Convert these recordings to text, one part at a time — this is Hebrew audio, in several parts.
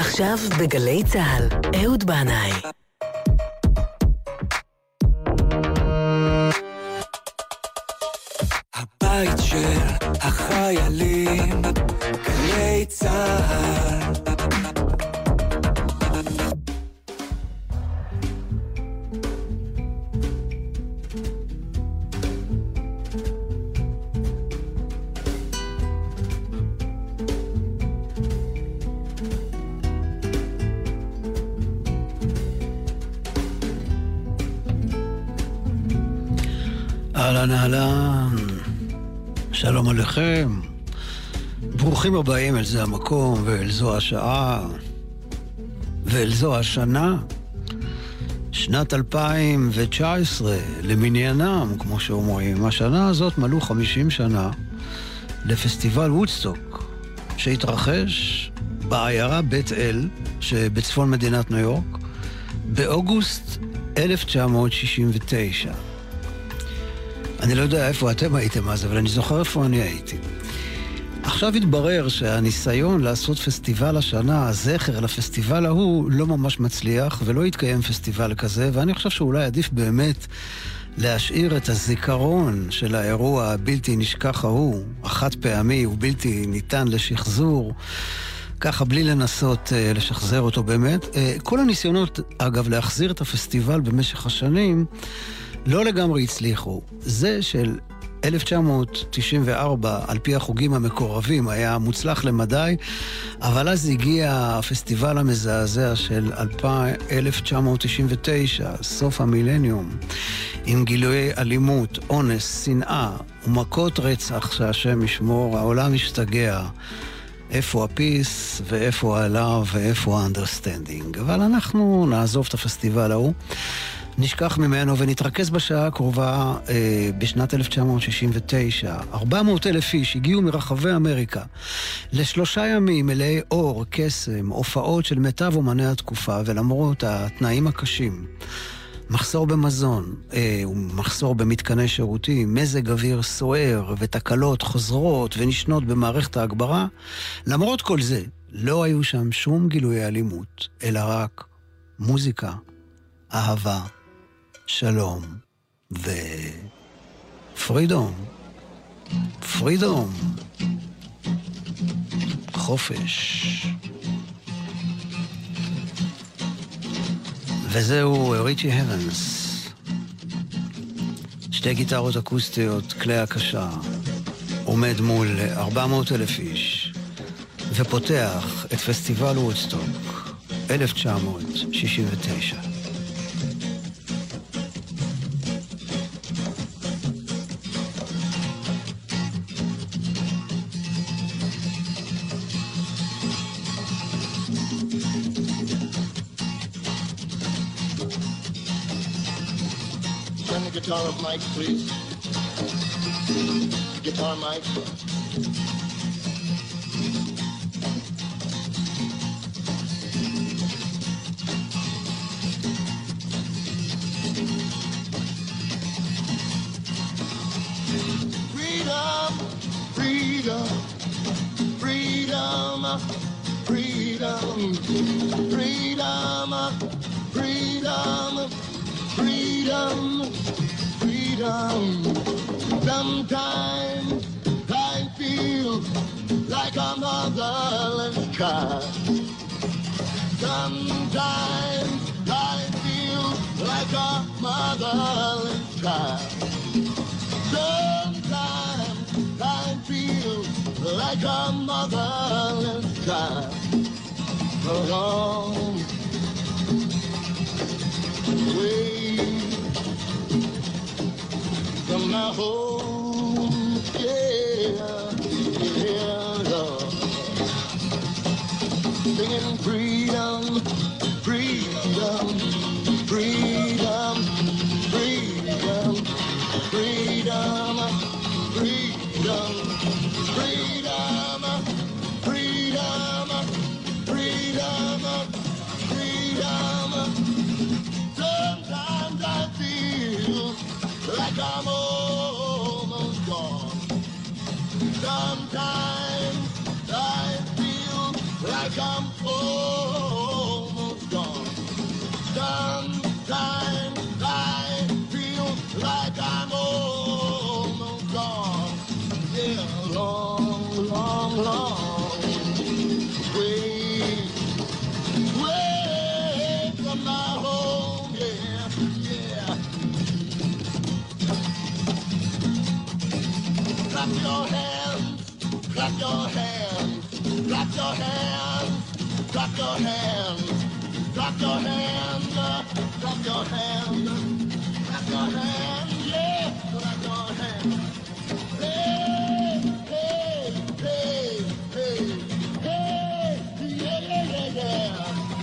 עכשיו בגלי צהל, אהוד בנאי. הבית של החיילים, גלי צהל. אהלן אהלן, שלום עליכם, ברוכים הבאים אל זה המקום ואל זו השעה ואל זו השנה, שנת 2019 למניינם, כמו שאומרים. השנה הזאת מלאו 50 שנה לפסטיבל וודסטוק שהתרחש בעיירה בית אל שבצפון מדינת ניו יורק באוגוסט 1969. אני לא יודע איפה אתם הייתם אז, אבל אני זוכר איפה אני הייתי. עכשיו התברר שהניסיון לעשות פסטיבל השנה, הזכר לפסטיבל ההוא, לא ממש מצליח, ולא יתקיים פסטיבל כזה, ואני חושב שאולי עדיף באמת להשאיר את הזיכרון של האירוע הבלתי נשכח ההוא, החד פעמי ובלתי ניתן לשחזור, ככה בלי לנסות לשחזר אותו באמת. כל הניסיונות, אגב, להחזיר את הפסטיבל במשך השנים, לא לגמרי הצליחו. זה של 1994, על פי החוגים המקורבים, היה מוצלח למדי, אבל אז הגיע הפסטיבל המזעזע של 1999, סוף המילניום, עם גילויי אלימות, אונס, שנאה ומכות רצח שהשם ישמור, העולם השתגע. איפה הפיס ואיפה הלב ואיפה האנדרסטנדינג. אבל אנחנו נעזוב את הפסטיבל ההוא, נשכח ממנו ונתרכז בשעה הקרובה. בשנת 1969 400,000 איש הגיעו מרחבי אמריקה ל3 ימים מלאי אור, קסם, הופעות של מיטב אומני התקופה, ולמרות התנאים הקשים, מחסור במזון, מחסור במתקני שירותים, מזג אוויר סוער ותקלות חוזרות ונשנות במערכת ההגברה, למרות כל זה לא היו שם שום גילויי אלימות, אלא רק מוזיקה, אהבה, שלום ופרידום. פרידום, חופש. וזהו ריצ'י הבנס, שתי גיטרות אקוסטיות, כלי הקשה, עומד מול 400,000 איש ופותח את פסטיבל וודסטוק 1969. Guitar of Mike, please. Guitar Mike. Freedom, freedom, freedom, freedom, freedom, freedom, freedom. Sometimes I feel like a motherless child. Sometimes I feel like a motherless child. Sometimes I feel like a motherless child. Along the way from my home, yeah, Lord. Singing freedom, freedom, freedom, freedom, freedom, freedom, freedom, freedom, freedom, freedom. Sometimes I feel like I'm almost gone. Sometimes I feel like I'm almost clap your hands, clap your hands, clap your hands, clap your hands, yeah, clap your hands. Hey, hey, hey, hey, hey, yeah, yeah, yeah, yeah.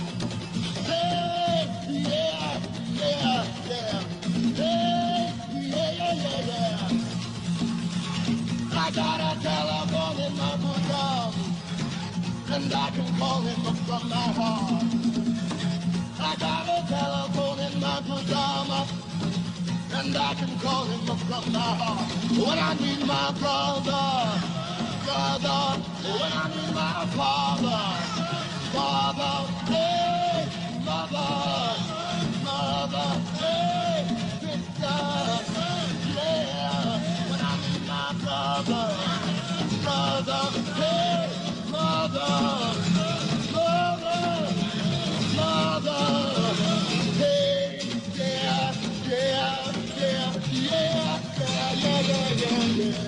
Hey, yeah, yeah, yeah. Hey, yeah, yeah, yeah, yeah. I got a telephone in my bosom, and I can call him from my heart. I got a telephone in my pajama, and I can call him from my heart. When I need my brother, brother, when I need my father, father, hey, mother, mother, hey, sister, yeah. When I need my brother, brother, hey, mother, mother, mother, hey, yeah, yeah, yeah, yeah, yeah, yeah, yeah, yeah.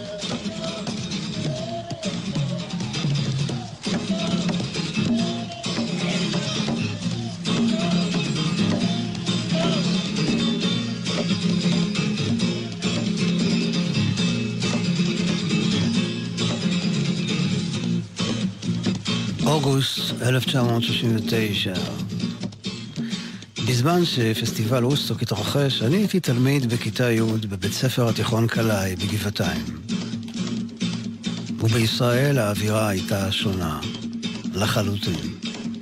אוגוסט 1969. בזמן שפסטיבל ווסטוק התרחש, אני הייתי תלמיד בכיתה י' בבית ספר התיכון קלעי בגבעתיים. ובישראל האווירה הייתה שונה לחלוטין.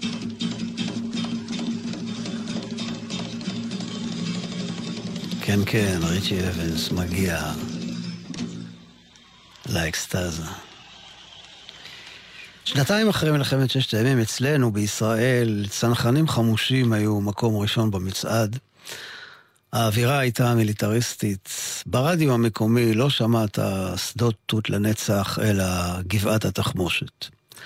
כן, כן, ריצ'י אבנס מגיע לאקסטאזה. שנתיים אחרי מלחמת ששת הימים אצלנו בישראל, צנחנים חמושים היו מקום ראשון במצעד. האווירה הייתה מיליטריסטית. ברדיו המקומי לא שמעת שדות תות לנצח, אלא גבעת התחמושת.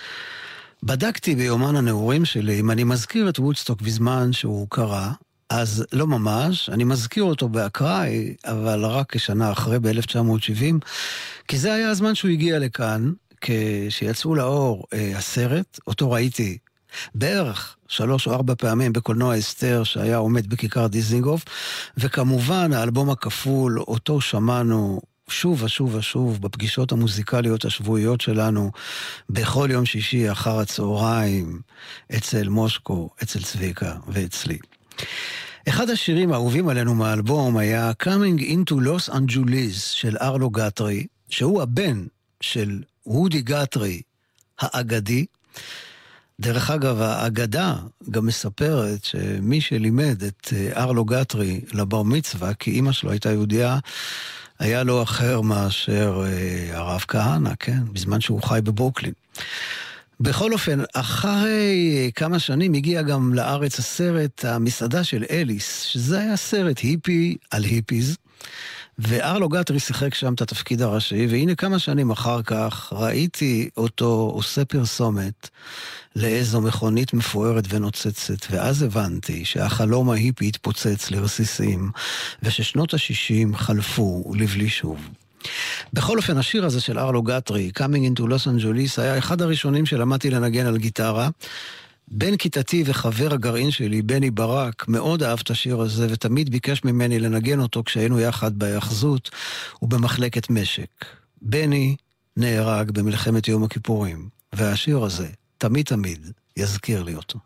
בדקתי ביומן הנעורים שלי אם אני מזכיר את וודסטוק בזמן שהוא קרה, אז לא ממש, אני מזכיר אותו באקראי, אבל רק כשנה אחרי ב-1970, כי זה היה הזמן שהוא הגיע לכאן, כשיצאו לאור הסרט, אותו ראיתי בערך 3 או 4 פעמים בקולנוע אסתר שהיה עומד בכיכר דיזינגוף, וכמובן האלבום הכפול, אותו שמענו שוב ושוב ושוב בפגישות המוזיקליות השבועיות שלנו, בכל יום שישי אחר הצהריים, אצל מושקו, אצל צביקה ואצלי. אחד השירים האהובים עלינו מהאלבום היה Coming into Los Angeles של ארלו גטרי, שהוא הבן של וודי גטרי האגדי. דרך אגב, האגדה גם מספרת שמי שלימד את ארלו גטרי לבר מצווה, כי אמא שלו הייתה יהודיה, היה לו אחר מאשר הרב כהנא, כן? בזמן שהוא חי בברוקלין. בכל אופן, אחרי כמה שנים הגיע גם לארץ הסרט המסעדה של אליס, שזה היה סרט היפי על היפיז, וארלו גטרי שיחק שם את התפקיד הראשי, והנה כמה שנים אחר כך ראיתי אותו עושה פרסומת לאיזו מכונית מפוארת ונוצצת, ואז הבנתי שהחלום ההיפי התפוצץ לרסיסים, וששנות ה-60 חלפו לבלי שוב. בכל אופן, השיר הזה של ארלו גטרי, Coming into Los Angeles, היה אחד הראשונים שלמדתי לנגן על גיטרה. בן כיתתי וחבר הגרעין שלי, בני ברק, מאוד אהב את השיר הזה, ותמיד ביקש ממני לנגן אותו כשהיינו יחד בהיאחזות ובמחלקת משק. בני נהרג במלחמת יום הכיפורים, והשיר הזה תמיד תמיד יזכיר לי אותו.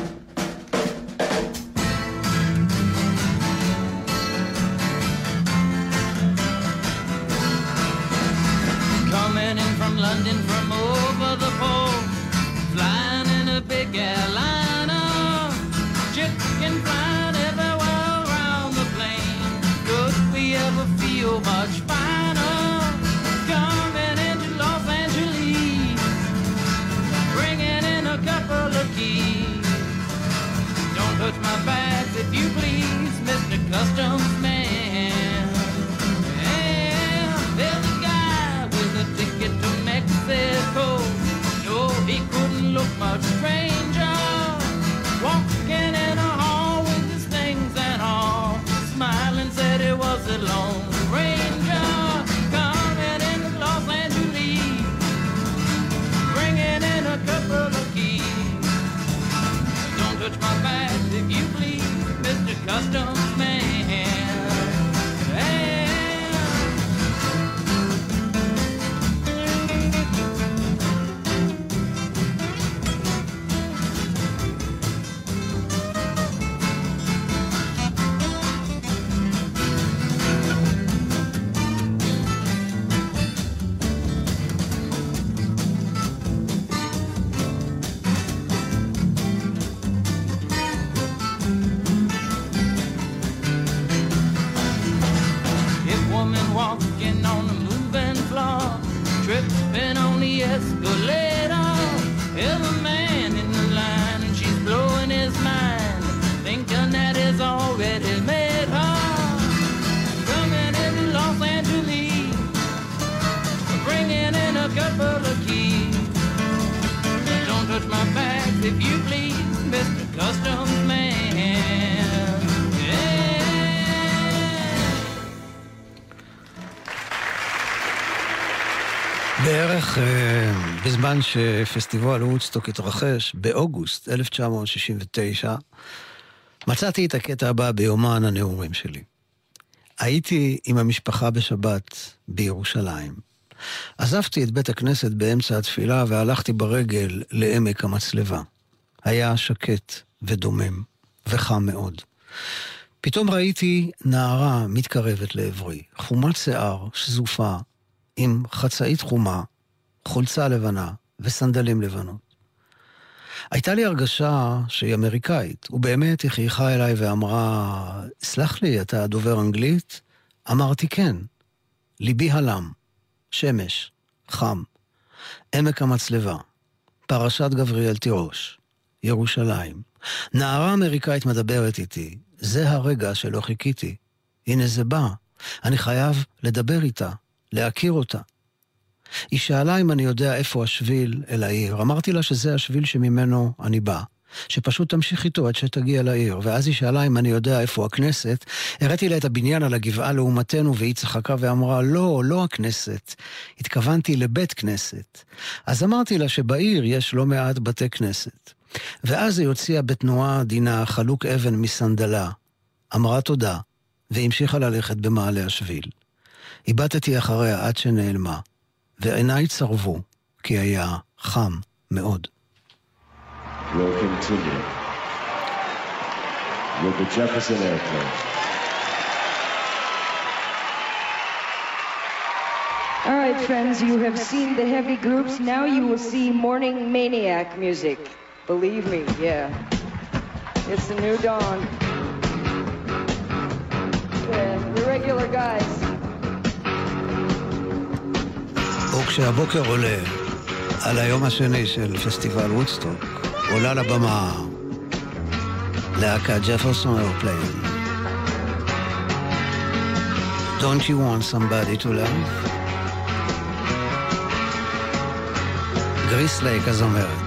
Coming in from London from over the pole, flying in a big airliner, chicken flying everywhere around the plane. Could we ever feel much finer? Coming into Los Angeles, bringing in a couple of keys. Don't touch my bags if you please, Mr. Customs Man. Yeah, there's a guy with a ticket to Mexico. Customs man. Walking on the moving floor, tripping on the escalator. There's a man in the line and she's blowing his mind, thinking that he's already made her. Coming into Los Angeles, bringing in a couple of keys. Don't touch my bags if you please, Mr. Customs Man. בערך בזמן שפסטיבל וודסטוק התרחש, באוגוסט 1969, מצאתי את הקטע הבא ביומן הנאומים שלי. הייתי עם המשפחה בשבת בירושלים. עזבתי את בית הכנסת באמצע התפילה והלכתי ברגל לעמק המצלבה. היה שקט ודומם וחם מאוד. פתאום ראיתי נערה מתקרבת לעברי, חומת שיער, שזופה, עם חצאית חומה, חולצה לבנה וסנדלים לבנות. הייתה לי הרגשה שהיא אמריקאית, ובאמת היא חייכה אליי ואמרה, סלח לי, אתה דובר אנגלית? אמרתי כן. ליבי הלם, שמש, חם, עמק המצלבה, פרשת גבריאל תירוש, ירושלים. נערה אמריקאית מדברת איתי, זה הרגע שלא חיכיתי. הנה זה בא, אני חייב לדבר איתה. להכיר אותה. היא שאלה אם אני יודע איפה השביל אל העיר. אמרתי לה שזה השביל שממנו אני בא. שפשוט תמשיך איתו עד שתגיע לעיר. ואז היא שאלה אם אני יודע איפה הכנסת. הראיתי לה את הבניין על הגבעה לעומתנו, והיא צחקה ואמרה, לא, לא הכנסת. התכוונתי לבית כנסת. אז אמרתי לה שבעיר יש לא מעט בתי כנסת. ואז היא הוציאה בתנועה עדינה חלוק אבן מסנדלה. אמרה תודה, והמשיכה ללכת במעלה השביל. איבדתי אחריה עד שנעלמה, ועיניי צרבו, כי היה חם מאוד. We'll continue with the Jefferson Airplane. All right, friends, you have seen the heavy groups. Now you will see morning maniac music. Believe me, yeah. It's the new dawn. Yeah, the regular guys. וכשהבוקר עולה על היום השני של פסטיבל וודסטוק, עולה לבמה להקת ג'פרסון איירפליין. Don't you want somebody to love? גריס לייק הזמרת.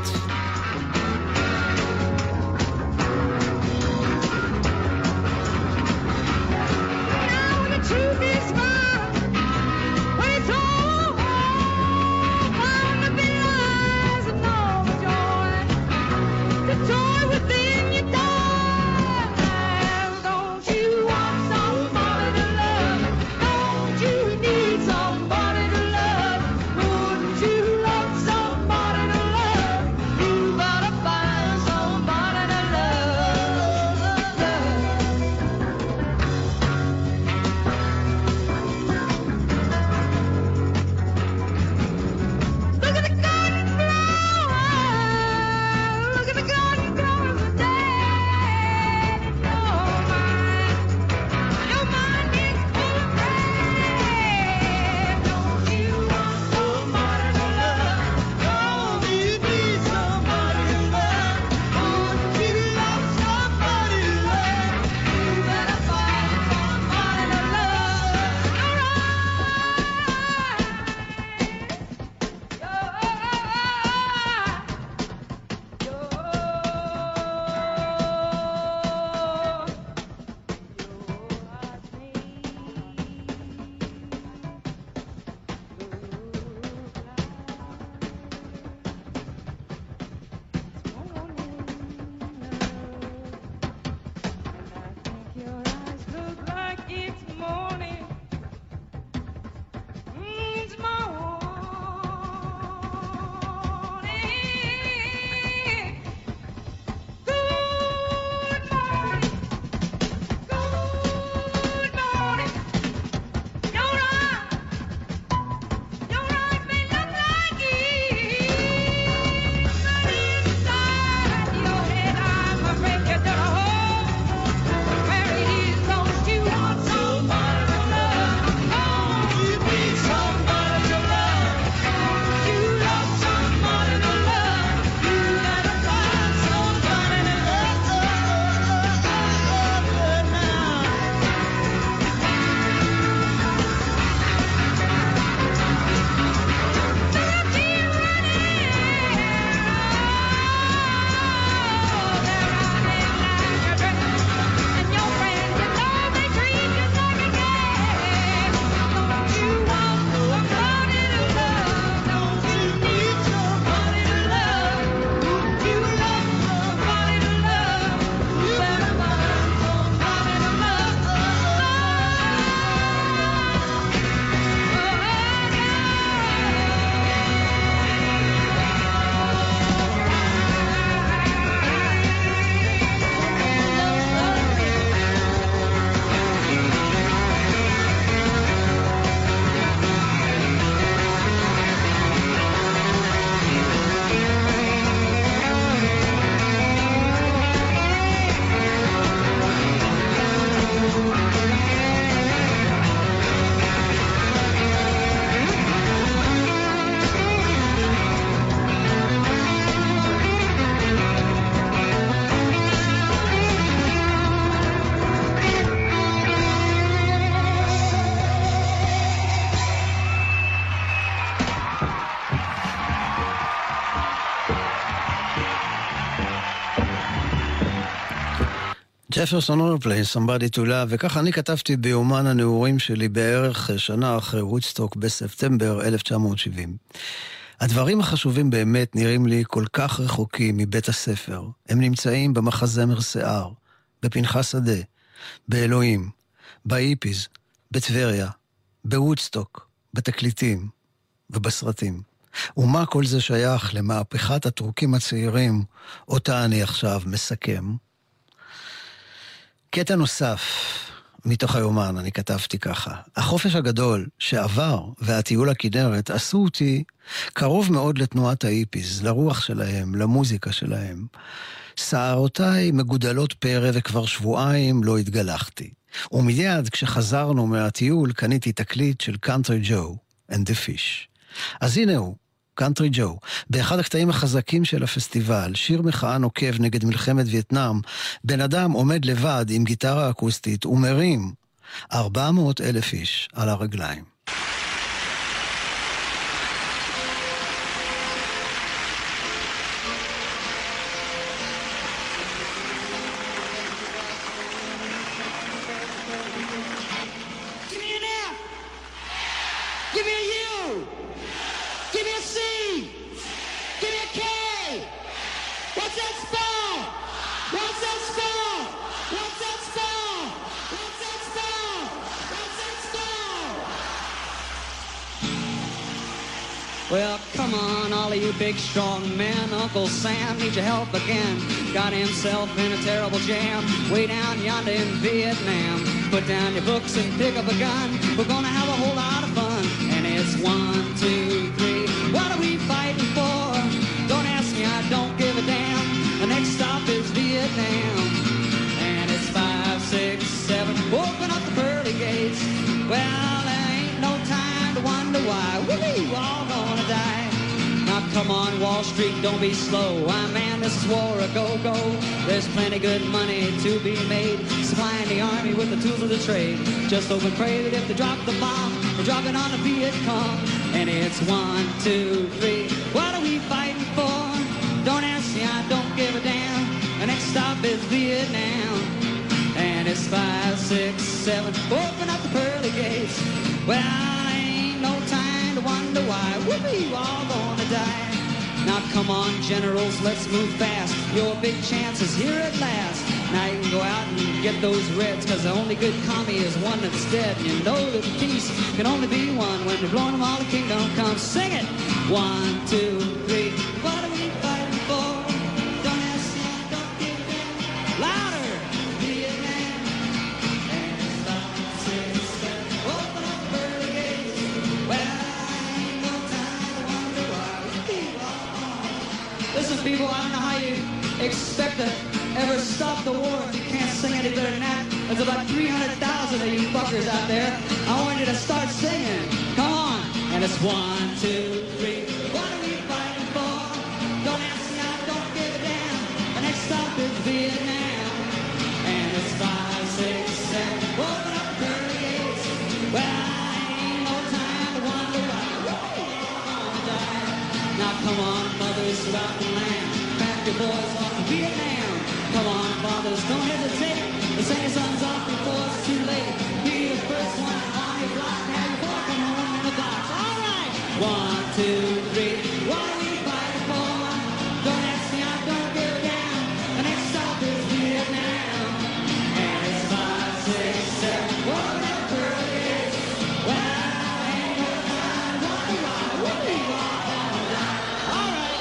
ג'פרסון איירפליין, Somebody to Love, וככה אני כתבתי ביומן הנעורים שלי בערך שנה אחרי וודסטוק בספטמבר 1970. הדברים החשובים באמת נראים לי כל כך רחוקים מבית הספר. הם נמצאים במחזמר שיער, בפנחס שדה, באלוהים, באיפיז, בטבריה, בוודסטוק, בתקליטים ובסרטים. ומה כל זה שייך למהפכת הטורקים הצעירים, אותה אני עכשיו מסכם? קטע נוסף מתוך היומן, אני כתבתי ככה. החופש הגדול שעבר והטיול לכנרת עשו אותי קרוב מאוד לתנועת האיפיז, לרוח שלהם, למוזיקה שלהם. שערותיי מגודלות פרא וכבר שבועיים לא התגלחתי. ומיד כשחזרנו מהטיול קניתי תקליט של קאנטרי ג'ו and the Fish. אז הנה הוא, קאנטרי ג'ו, באחד הקטעים החזקים של הפסטיבל, שיר מחאה נוקב נגד מלחמת וייטנאם, בן אדם עומד לבד עם גיטרה אקוסטית ומרים 400,000 איש על הרגליים. Well, come on, all of you big, strong men. Uncle Sam needs your help again. Got himself in a terrible jam way down yonder in Vietnam. Put down your books and pick up a gun. We're gonna have a whole lot of fun. And it's 1, 2, 3. What are we fighting for? Don't ask me, I don't give a damn. The next stop is Vietnam. And it's 5, 6, 7. Open up the pearly gates. Well, there ain't no time to wonder why. We're all gonna die. Now come on, Wall Street, don't be slow. Man, this is war, a go-go. There's plenty good money to be made, supplying the army with the tools of the trade. Just hope and pray that if they drop the bomb, they drop it on the Viet Cong. And it's 1, 2, 3. What are we fighting for? Don't ask me, I don't give a damn. The next stop is Vietnam. And it's 5, 6, 7. Open up the pearly gates. Well, ain't no time to wonder why. We're all gonna die. Now come on, generals, let's move fast. Your big chance is here at last. Now you can go out and get those reds, cause the only good commie is one that's dead. And you know that peace can only be one when they're blowing them all the kingdom come. Sing it! 1, 2, 3. What are we fighting for? Don't ask me, don't give a damn. Louder! Vietnam. And it's 5, 6, 7. Open up the pearly gates. Well, ain't no time to wonder why. Listen, people, I don't know how you expect to ever stop the war if you can't sing any better than that. There's about 300,000 of you fuckers out there. I want you to start singing. Come on. And it's 1, 2, 3. What are we fighting for? Don't ask me, I don't give a damn. The next stop is Vietnam. And it's 5, 6, 7. Open up the pearly gates. Well, ain't no time to wonder why. We're all gonna die. Now come on, mothers throughout the land. Pack your boys off to Vietnam. Come on, fathers, don't hesitate. The send your sons off before it's too late. Be the first one on your block. Have your boy come home in a box. All right. 1, 2, 3. What are we fighting for? Don't ask me, I don't give a damn. The next stop is Vietnam. And it's 5, 6, 7. Open up the pearly gates. Well, ain't no time to wonder why. We're all gonna die. All right.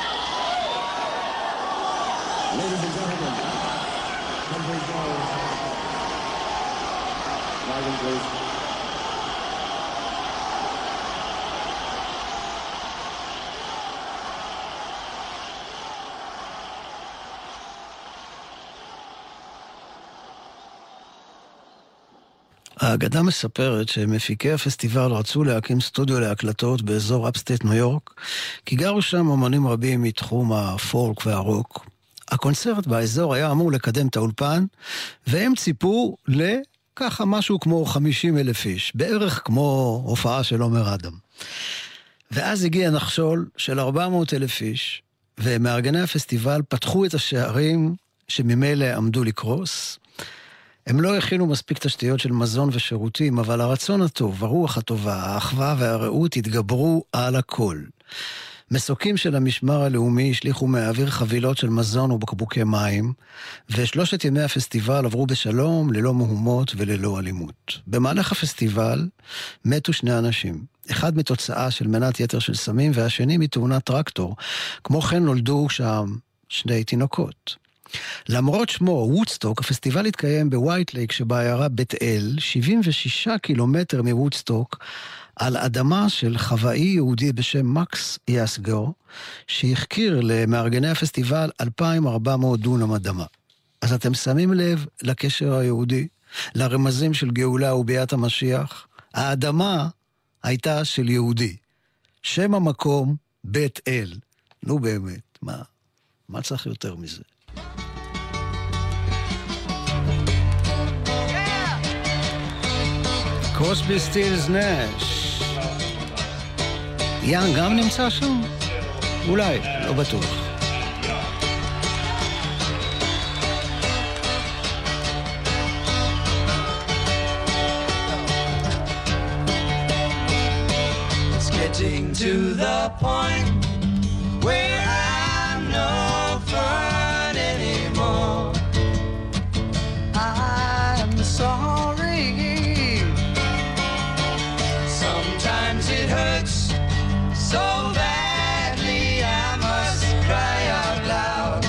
Ladies and gentlemen, Country Joe. Marvin, please. האגדה מספרת שמפיקי הפסטיבל רצו להקים סטודיו להקלטות באזור אפסטייט ניו יורק, כי גרו שם אמנים רבים מתחום הפולק והרוק. הקונצרט באזור היה אמור לקדם את האולפן, והם ציפו לככה משהו כמו 50,000 איש, בערך כמו הופעה של עומר אדם. ואז הגיע נחשול של 400,000 איש, ומארגני הפסטיבל פתחו את השערים שממילא עמדו לקרוס. הם לא הכינו מספיק תשתיות של מזון ושירותים, אבל הרצון הטוב, הרוח הטובה, האחווה והרעות התגברו על הכל. מסוקים של המשמר הלאומי השליחו מהאוויר חבילות של מזון ובקבוקי מים, ושלושת ימי הפסטיבל עברו בשלום, ללא מהומות וללא אלימות. במהלך הפסטיבל מתו 2 אנשים, אחד מתוצאה של מנת יתר של סמים, והשני מתאונת טרקטור. כמו כן נולדו שם 2 תינוקות. למרות שמו וודסטוק, הפסטיבל התקיים בווייט לייק שבעיירה בית אל, 76 קילומטר מוודסטוק, על אדמה של חוואי יהודי בשם מקס יסגור, שהחכיר למארגני הפסטיבל 2,400 דונם אדמה. אז אתם שמים לב לקשר היהודי, לרמזים של גאולה וביאת המשיח? האדמה הייתה של יהודי. שם המקום בית אל. נו באמת, מה צריך יותר מזה? קרוסבי סטילס נש. יאן גם נמצא שם? אולי, לא בטוח. It's getting to the point where I'm no fun anymore. I'm sorry. Sometimes it hurts so badly I must cry out loud.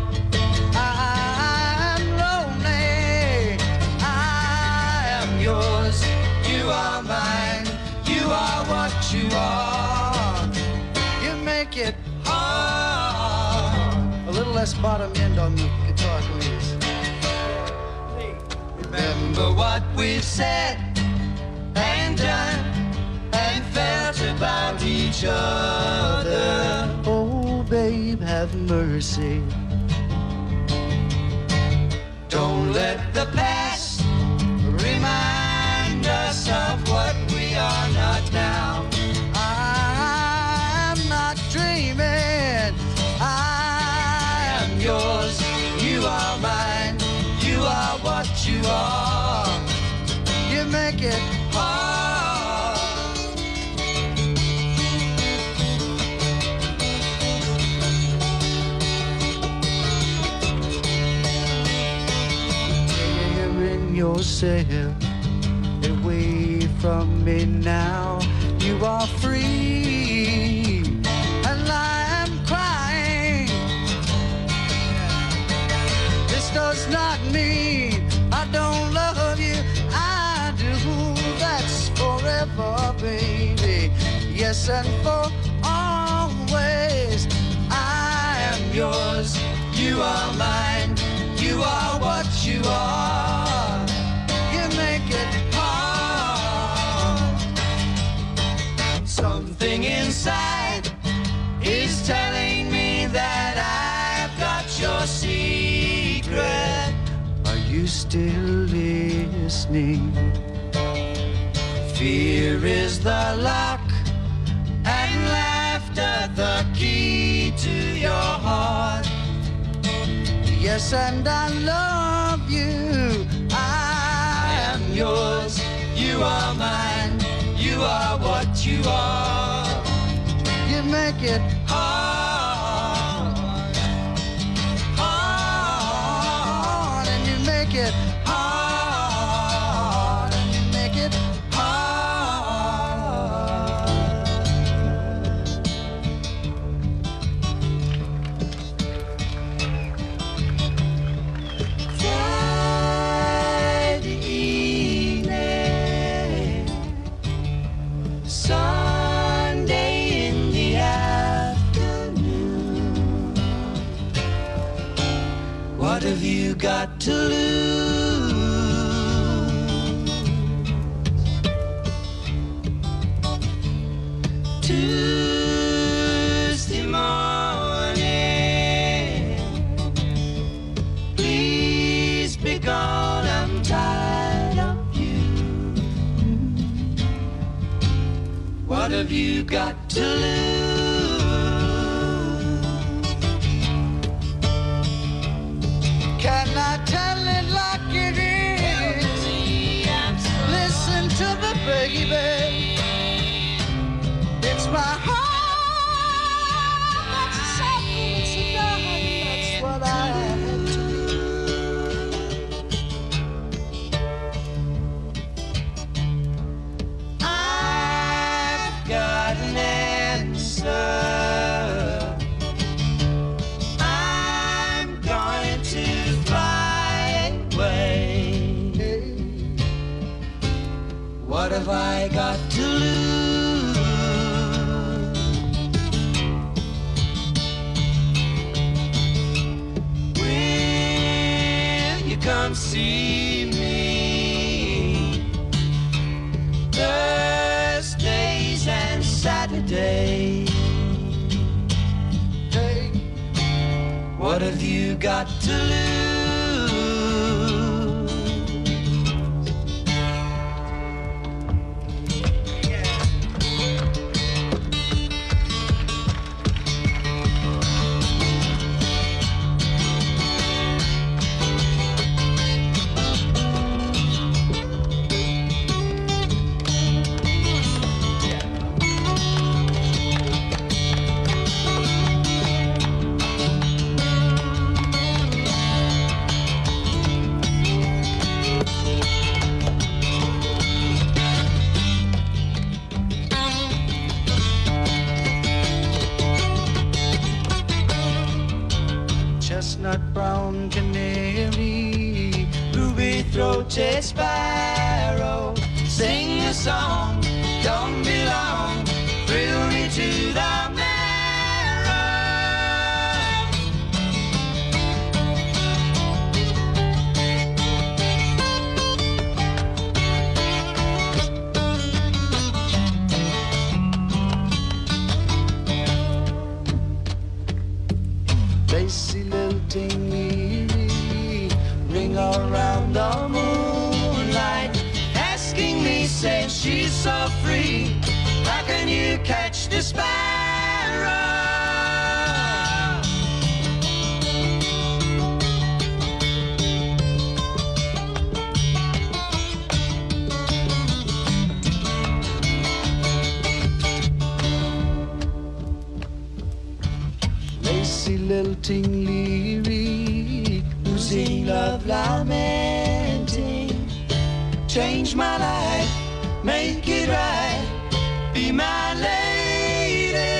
I'm lonely, I am yours, you are mine, you are what you are. You make it hard. A little less bottom end on the guitar, please. Remember what we've said and done and felt about each other. Oh, babe, have mercy. Don't let the past remind us of what we are not now. I'm not dreaming. I am yours. You are mine. You are what you are. You make it hard. Yourself away from me now. You are free and I am crying. This does not mean I don't love you. I do. That's forever, baby. Yes, and for always. I am yours. You are mine. You are what you are. Make it hard. Something inside is telling me that I've got your secret. Are you still listening? Fear is the lock and laughter the key to your heart. Yes, and I love you. Yours, you are mine, you are what you are. You make it hard, hard, and you make it hard, and you make it What have you got to lose? Tuesday morning, please be gone, I'm tired of you. What have you got to lose? I got to lose? Will you come see me Thursdays and Saturdays? Hey, what have you got to lose? Chestnut brown canary, ruby-throated sparrow, sing a song, don't be long, thrill me to the marrow. Lacy lilting me, ring around the moonlight, asking me, saying she's so free, how can you catch the sparrow? Lacy lilting lyric, losing love lamenting, change my life, make it right, be my lady.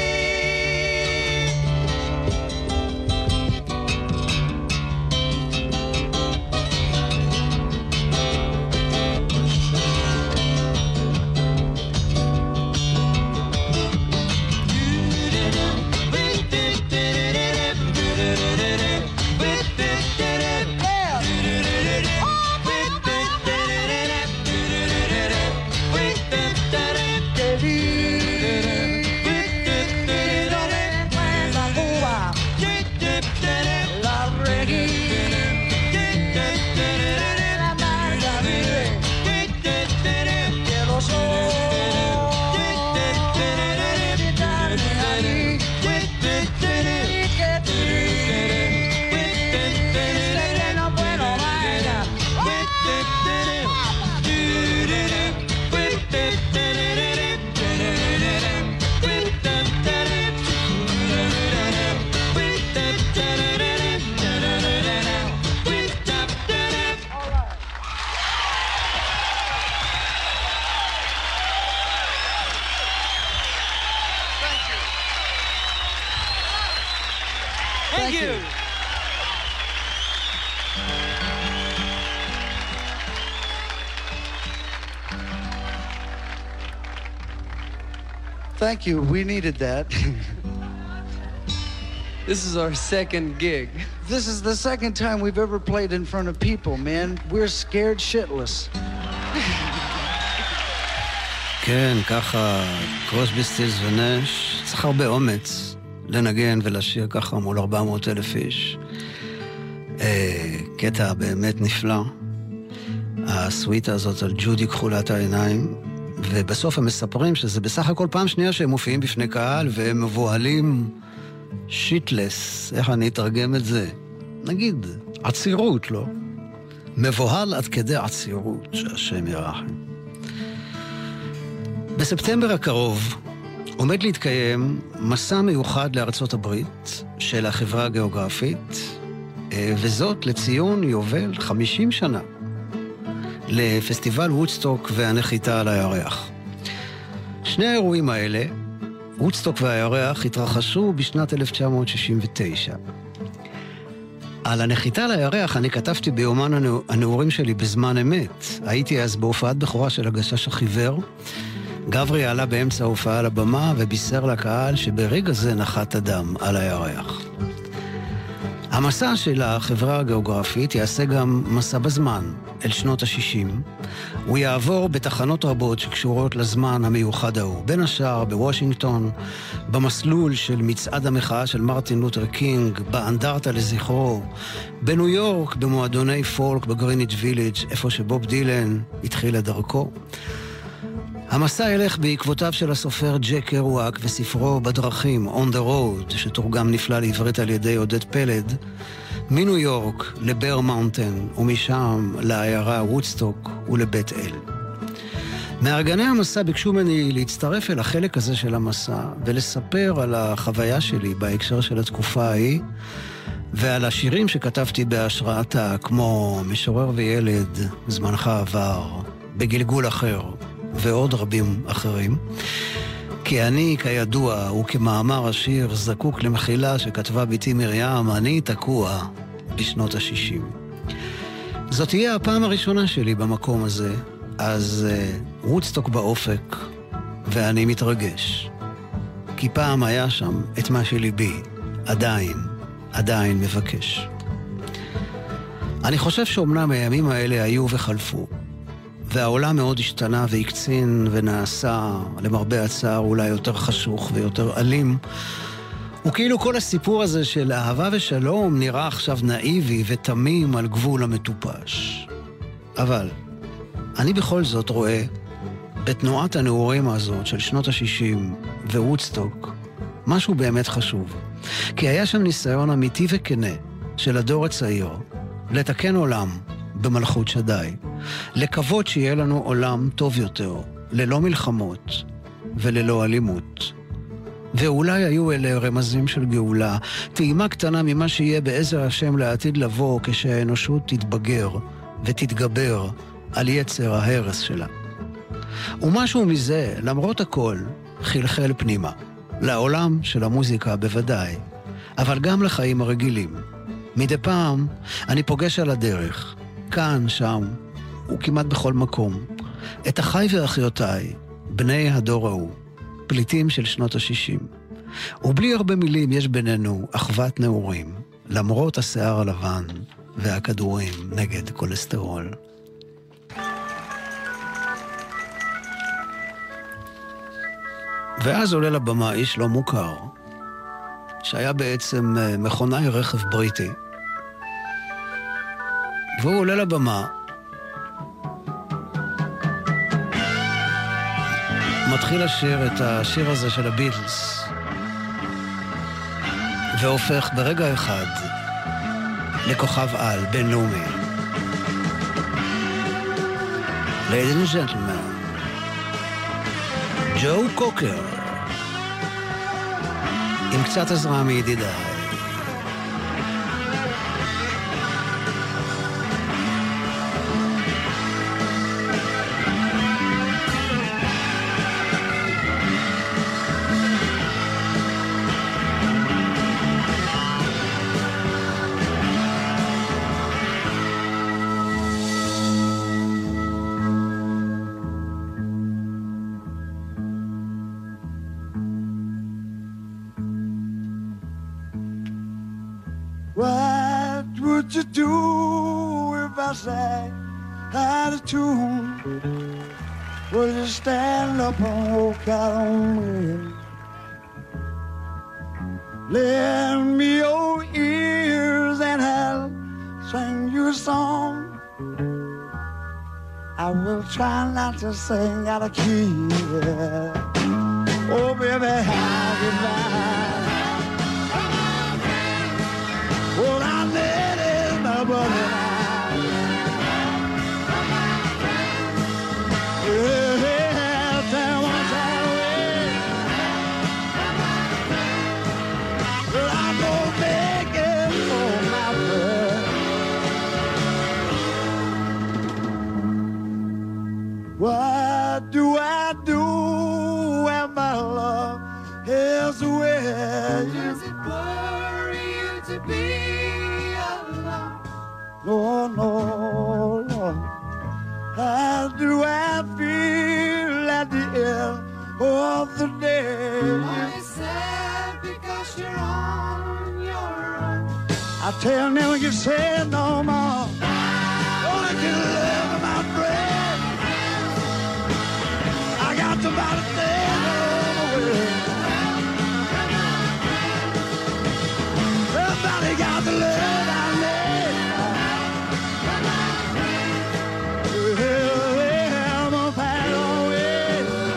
Thank you. Thank you. We needed that. This is our second gig. This is the second time we've ever played in front of people, man. We're scared shitless. כן, ככה, קרוסבי, סטילס ונש, צריך הרבה אומץ לנגן ולשיר ככה מול 400,000 איש. קטע באמת נפלא. הסוויטה הזאת על ג'ודי כחולת העיניים, ובסוף הם מספרים שזה בסך הכל פעם שנייה שהם מופיעים בפני קהל, והם מבוהלים שיטלס, איך אני אתרגם את זה? נגיד, עצירות, לא? מבוהל עד כדי עצירות, שהשם ירחם. בספטמבר הקרוב עומד להתקיים מסע מיוחד לארצות הברית של החברה הגיאוגרפית, וזאת לציון יובל 50 שנה לפסטיבל וודסטוק והנחיתה על הירח. שני האירועים האלה, וודסטוק והירח, התרחשו בשנת 1969. על הנחיתה לירח אני כתבתי ביומן הנעורים שלי בזמן אמת. הייתי אז בהופעת בכורה של הגשש החיוור. גברי עלה באמצע ההופעה על הבמה ובישר לקהל שברגע זה נחת אדם על הירח. המסע של החברה הגיאוגרפית יעשה גם מסע בזמן, אל שנות ה-60. הוא יעבור בתחנות רבות שקשורות לזמן המיוחד ההוא. בין השאר בוושינגטון, במסלול של מצעד המחאה של מרטין לותר קינג, באנדרטה לזכרו, בניו יורק, במועדוני פולק בגריניץ' ויליג', איפה שבוב דילן התחיל את דרכו. המסע ילך בעקבותיו של הסופר ג'ק קרואק וספרו בדרכים, On the Road, שתורגם נפלא לעברית על ידי עודד פלד, מניו יורק לבר מאונטן, ומשם לעיירה וודסטוק ולבית אל. מארגני המסע ביקשו ממני להצטרף אל החלק הזה של המסע, ולספר על החוויה שלי בהקשר של התקופה ההיא, ועל השירים שכתבתי בהשראתה, כמו משורר וילד, זמנך עבר, בגלגול אחר, ועוד רבים אחרים. כי אני, כידוע, וכמאמר השיר, זקוק למחילה שכתבה ביתי מרים, אני תקוע בשנות ה-60. זאת תהיה הפעם הראשונה שלי במקום הזה, אז וודסטוק באופק, ואני מתרגש. כי פעם היה שם את מה שליבי, עדיין מבקש. אני חושב שאומנם הימים האלה היו וחלפו, והעולם מאוד השתנה והקצין ונעשה, למרבה הצער, אולי יותר חשוך ויותר אלים. וכאילו כל הסיפור הזה של אהבה ושלום נראה עכשיו נאיבי ותמים על גבול המטופש. אבל אני בכל זאת רואה בתנועת הנעורים הזאת של שנות ה-60 ווודסטוק משהו באמת חשוב. כי היה שם ניסיון אמיתי וכנה של הדור הצעיר לתקן עולם במלכות שדי, לקוות שיהיה לנו עולם טוב יותר, ללא מלחמות וללא אלימות. ואולי היו אלה רמזים של גאולה, טעימה קטנה ממה שיהיה בעזר השם לעתיד לבוא כשהאנושות תתבגר ותתגבר על יצר ההרס שלה. ומשהו מזה, למרות הכל, חלחל פנימה, לעולם של המוזיקה בוודאי, אבל גם לחיים הרגילים. מדי פעם אני פוגש על הדרך, כאן, שם, וכמעט בכל מקום, את אחי ואחיותיי, בני הדור ההוא, פליטים של שנות ה-60. ובלי הרבה מילים יש בינינו אחוות נעורים, למרות השיער הלבן והכדורים נגד כולסטרול. ואז עולה לבמה איש לא מוכר, שהיה בעצם מכונאי רכב בריטי, והוא עולה לבמה, מתחיל לשיר את השיר הזה של הביטלס, והופך ברגע אחד לכוכב על בינלאומי. Ladies and gentlemen, ג'ו קוקר, עם קצת עזרה מידידיי. What would you do if I sang out of tune? Would you stand up and walk out on me? Lend me your ears and I'll sing you a song. I will try not to sing out of key. Oh, baby, how goodbye. Well, I let it my brother out. Yeah, there was that way. But I'm gonna make it for my friend. What do I do when my love is away? Does it worry you to be alone? you say no more. Don't let you live, my friend. I got somebody staying over with. Somebody got the love I need. Well, I'm gonna pass away.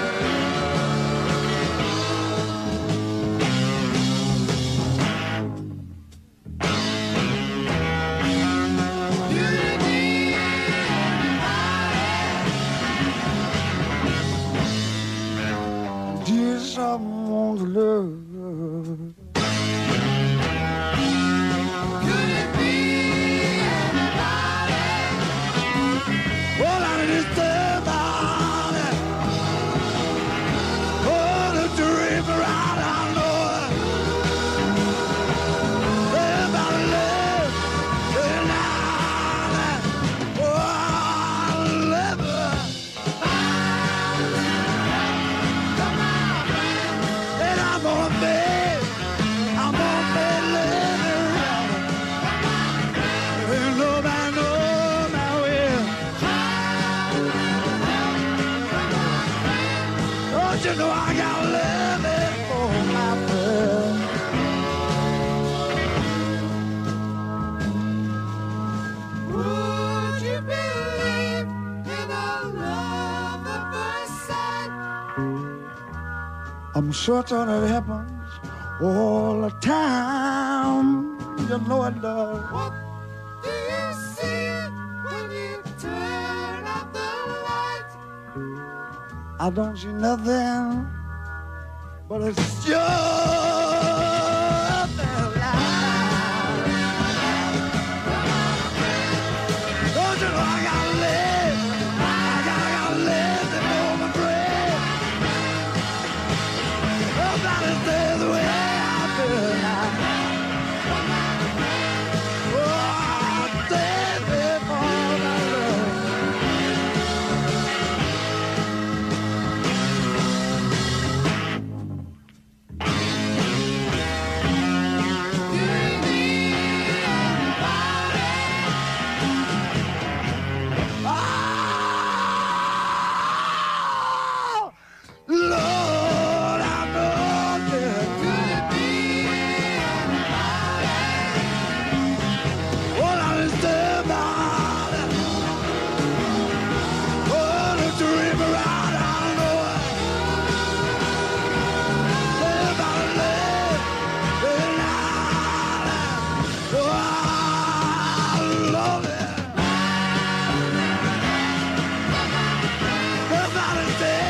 Dear someone's love. Could it be anybody? Well, I just about it. Oh, the dream right, I know it. About love, tonight. Oh, I love her. And I'm gonna be living around. And nobody knows my will. Don't you know I got love it for my friend? Would you believe in a love at first sight? I'm certain it happens all the time. You know it does. What do you see when you turn off the light? I don't see nothing, but it's just the light. Don't you know I gotta live? I gotta live to know my friend. Nobody stays the way I feel now. Oh, stay before my love. Oh, Lord, I know that could it be anybody? Well, I understand about it. Oh, the dream around, I know it. Live about live, and oh, I love it. Somebody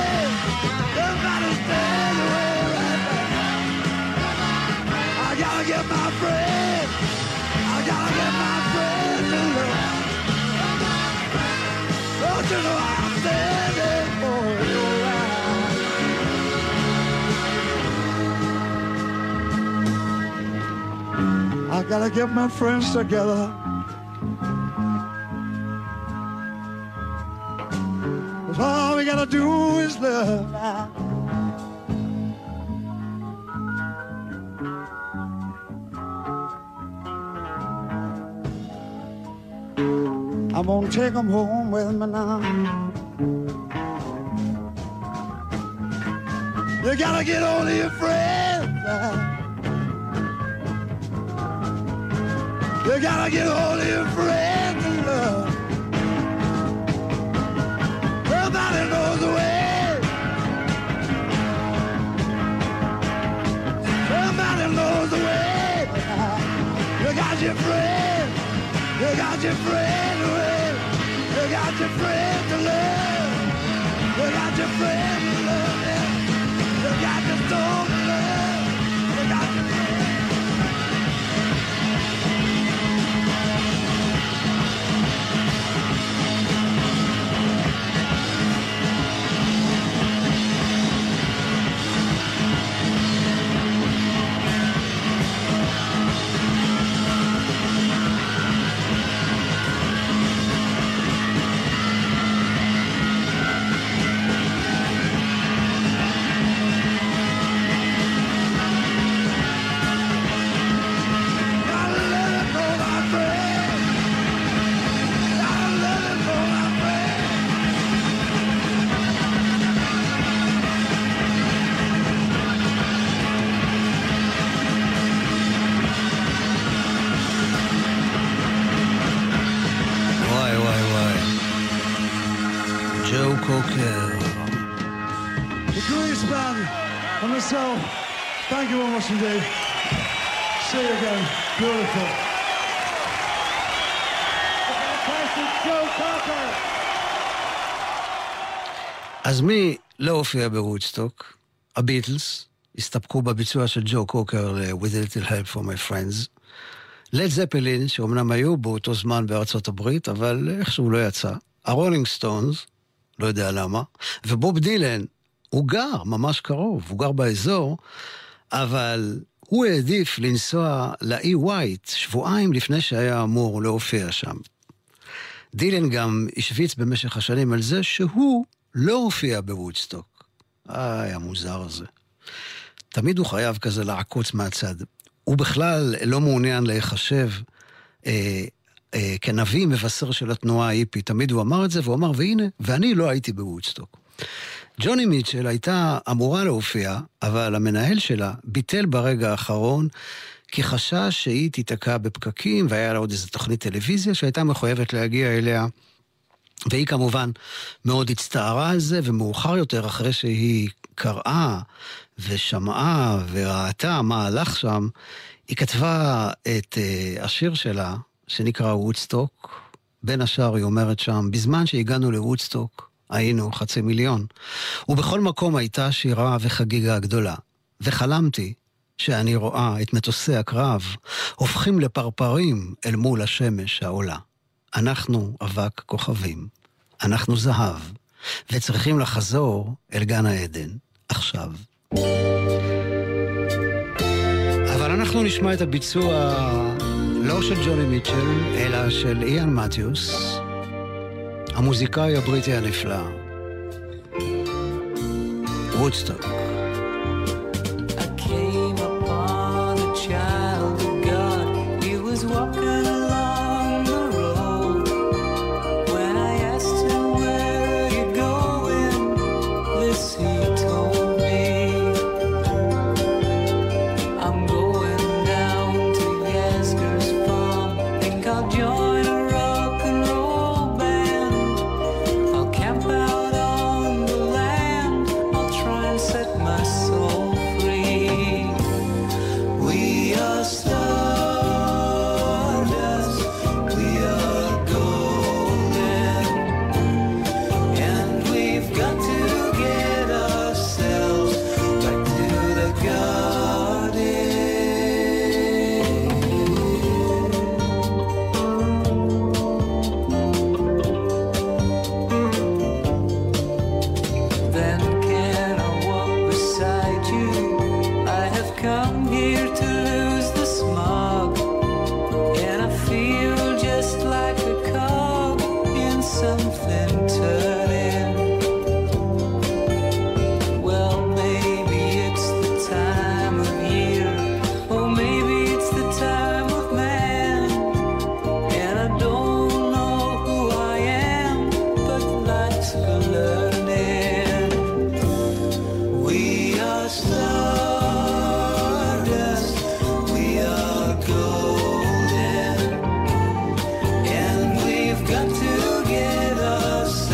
stay away right now. I gotta get my friend. I gotta get my friend to love. Don't you know I'm standing for your right? I gotta get my friends together. 'Cause all we gotta do is love now. I'm gonna take them home with me now. You gotta get hold of your friends now. You gotta get hold of your friends and love. Nobody knows the way. Somebody knows the way. You got your friend. You got your friend to live. You got your friend to love. You got your friend to love. Yeah. You got your soul to love. You got your friend. קוקר. The greatest band and myself, thank you very much indeed. See you again. Beautiful. Fantastic Joe Cocker. אז מי לא הופיע בוודסטוק? הביטלס הסתפקו בביצוע של ג'ו קוקר ל-With a Little Help from My Friends. לד זפלין, שאומנם היו באותו זמן בארצות הברית, אבל איכשהו לא יצא. הרולינג סטונס, לא יודע למה, ובוב דילן, הוא גר ממש קרוב, הוא גר באזור, אבל הוא העדיף לנסוע לאי ווייט שבועיים לפני שהיה אמור להופיע שם. דילן גם השוויץ במשך השנים על זה שהוא לא הופיע בוודסטוק. היה מוזר הזה. תמיד הוא חייב כזה לעקוץ מהצד. הוא בכלל לא מעוניין להיחשב כנביא מבשר של התנועה ההיפית. תמיד הוא אמר את זה, והוא אמר, והנה, ואני לא הייתי בוודסטוק. ג'וני מיטשל הייתה אמורה להופיע, אבל המנהל שלה ביטל ברגע האחרון, כי חשש שהיא תיתקע בפקקים, והיה לה עוד איזו תוכנית טלוויזיה שהייתה מחויבת להגיע אליה, והיא כמובן מאוד הצטערה על זה, ומאוחר יותר אחרי שהיא קראה ושמעה וראתה מה הלך שם, היא כתבה את השיר שלה, שנקרא וודסטוק. בין השאר היא אומרת שם, בזמן שהגענו לוודסטוק, היינו 500,000. ובכל מקום הייתה שירה וחגיגה גדולה. וחלמתי שאני רואה את מטוסי הקרב, הופכים לפרפרים אל מול השמש העולה. אנחנו אבק כוכבים, אנחנו זהב, וצריכים לחזור אל גן העדן, עכשיו. אבל אנחנו נשמע את הביצוע לא של ג'וני מיטשל, אלא של איאן מתיוס, המוזיקאי הבריטי הנפלא. וודסטוק. I came upon a child of God. He was walking along the road. When I asked him, where are you going? This he told me. I'm going down to Yasgur's farm. Think I'll join a rock and roll band. I'll camp out on the land. I'll try and set my soul free. We are stardust, we are golden, and we've got to get ourselves back to the garden. Then can I walk beside you? I have come here to lose the smog, and I feel just like a cog in something turning. Well, maybe it's the time of year, or maybe it's the time of man, and I don't know who I am, but life's for learning. We are stardust, we are golden, and we've got to get ourselves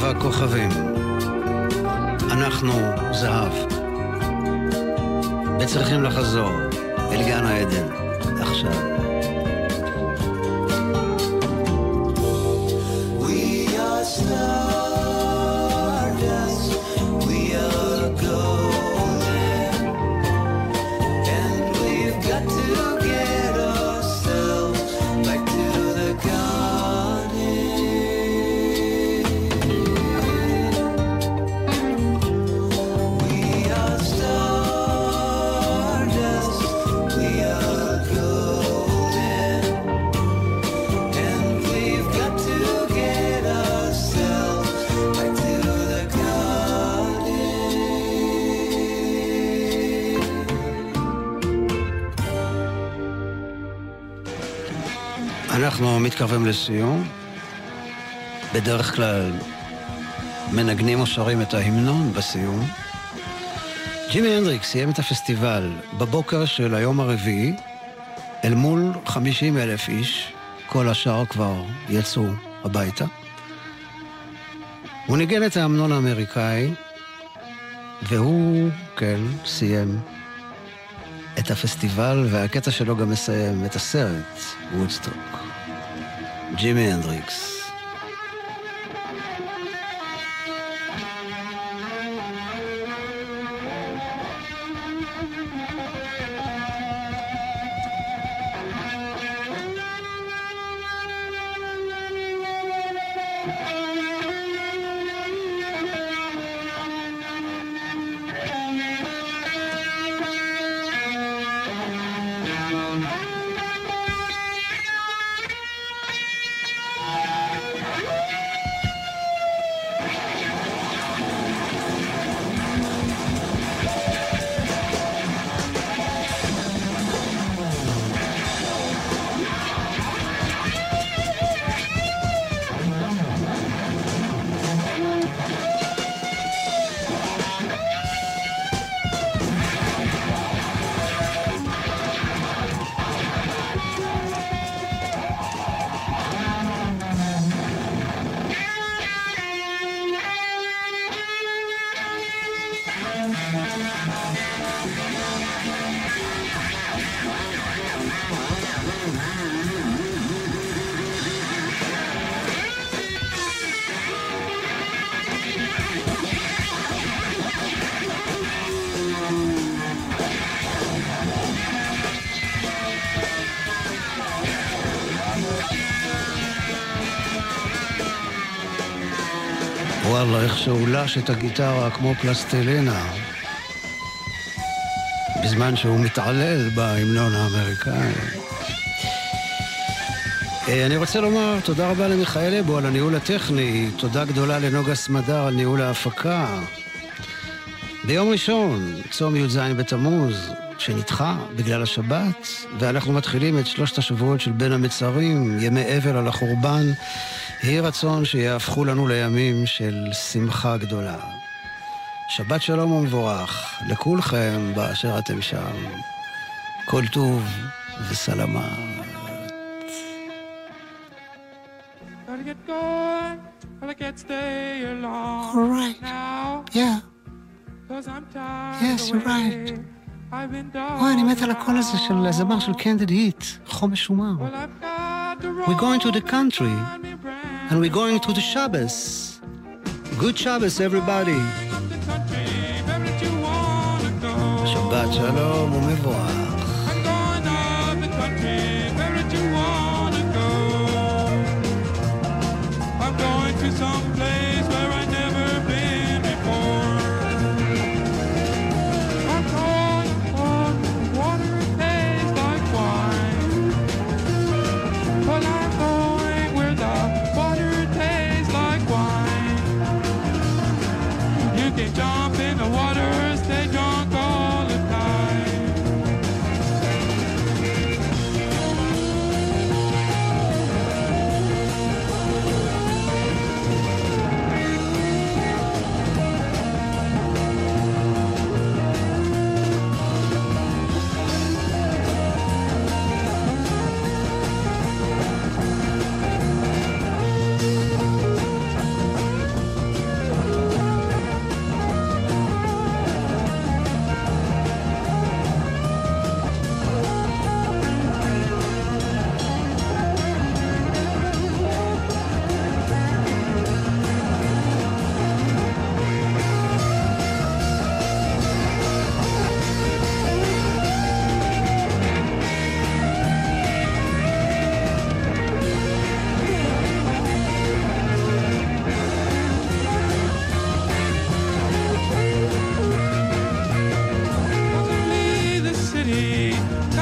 הכוכבים. אנחנו זהב. וצריכים לחזור אל גן העדן עכשיו. We are stardust, we are golden, and we've got to get ourselves back to the garden. We are stardust, we are golden, and we've got to get ourselves back to the garden. אנחנו מתקרבים לסיום. בדרך כלל מנגנים או שרים את ההמנון בסיום. ג'ימי הנדריקס סיים את הפסטיבל בבוקר של היום הרביעי אל מול 50,000 איש. כל השאר כבר יצאו הביתה. הוא ניגן את ההמנון האמריקאי, והוא, כן, סיים את הפסטיבל, והקטע שלו גם מסיים את הסרט וודסטוק. ג'ימי הנדריקס. וואלה, איך שהולש את הגיטרה כמו פלסטלינה, בזמן שהוא מתעלל בהמנון האמריקאי. אני רוצה לומר תודה רבה למיכאל אבו על הניהול הטכני, תודה גדולה לנוגה סמדר על ניהול ההפקה. ביום ראשון, צום י"ז בתמוז, שנדחה בגלל השבת, ואנחנו מתחילים את 3 השבועות של בין המצרים, ימי אבל על החורבן. יהי רצון שיהפכו לנו לימים של שמחה גדולה. שבת שלום ומבורך לכולכם באשר אתם שם. כל טוב וסלמה. All right. Yeah. Yes, you're right. אני מת על הקול הזה של הזמר של קנדיד היט, חומש שומר. We're going to the country and we're going to the Shabbos. Good Shabbos, everybody. שבת שלום ומבורך. I'm going to some place where I've never been before. I'm going on water that tastes like wine. Well, I'm going where the water tastes like wine. You can jump in the water, stay drunk all the time.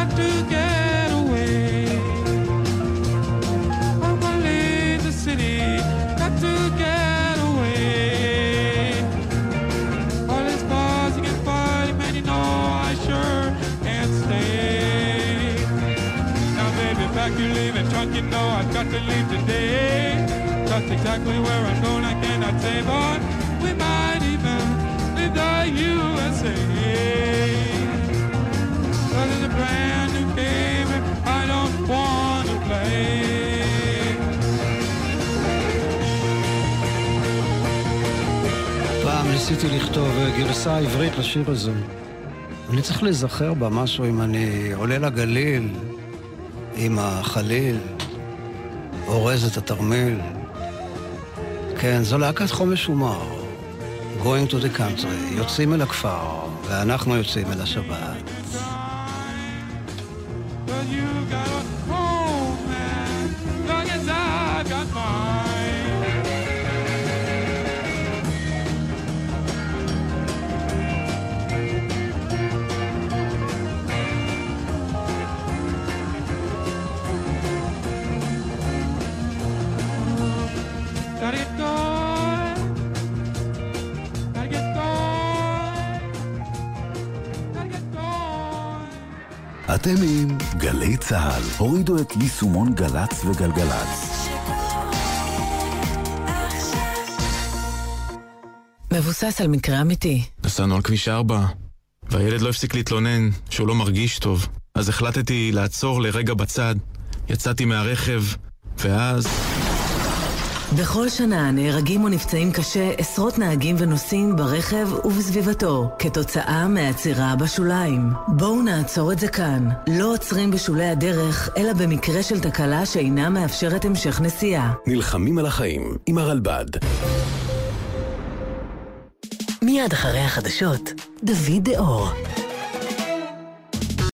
got to get away. I'm gonna leave the city, got to get away. All these cars you can find, man, you know I sure can't stay. Now baby, back you leaving trunk, you know I've got to leave today. That's exactly where I'm going, I cannot say, but we might even leave the USA. But there's a brand new game and I don't want to play. פעם ניסיתי לכתוב גרסה עברית לשיר הזה. אני צריך להיזכר בה משהו אם אני עולה לגליל עם החליל, אורז את התרמיל. כן, זו להקת חומש ומר. Going to the country. יוצאים אל הכפר, ואנחנו יוצאים אל השבת. אתם עם גלי צהל. הורידו את יישומון גלץ וגלגלץ. מבוסס על מקרה אמיתי. נסענו על כביש 4, והילד לא הפסיק להתלונן שהוא לא מרגיש טוב. אז החלטתי לעצור לרגע בצד. יצאתי מהרכב, ואז... בכל שנה נהרגים או נפצעים קשה עשרות נהגים ונוסעים ברכב ובסביבתו כתוצאה מהעצירה בשוליים. בואו נעצור את זה כאן. לא עוצרים בשולי הדרך, אלא במקרה של תקלה שאינה מאפשרת המשך נסיעה. נלחמים על החיים עם הרלב"ד. מיד אחרי החדשות, דוד דאור.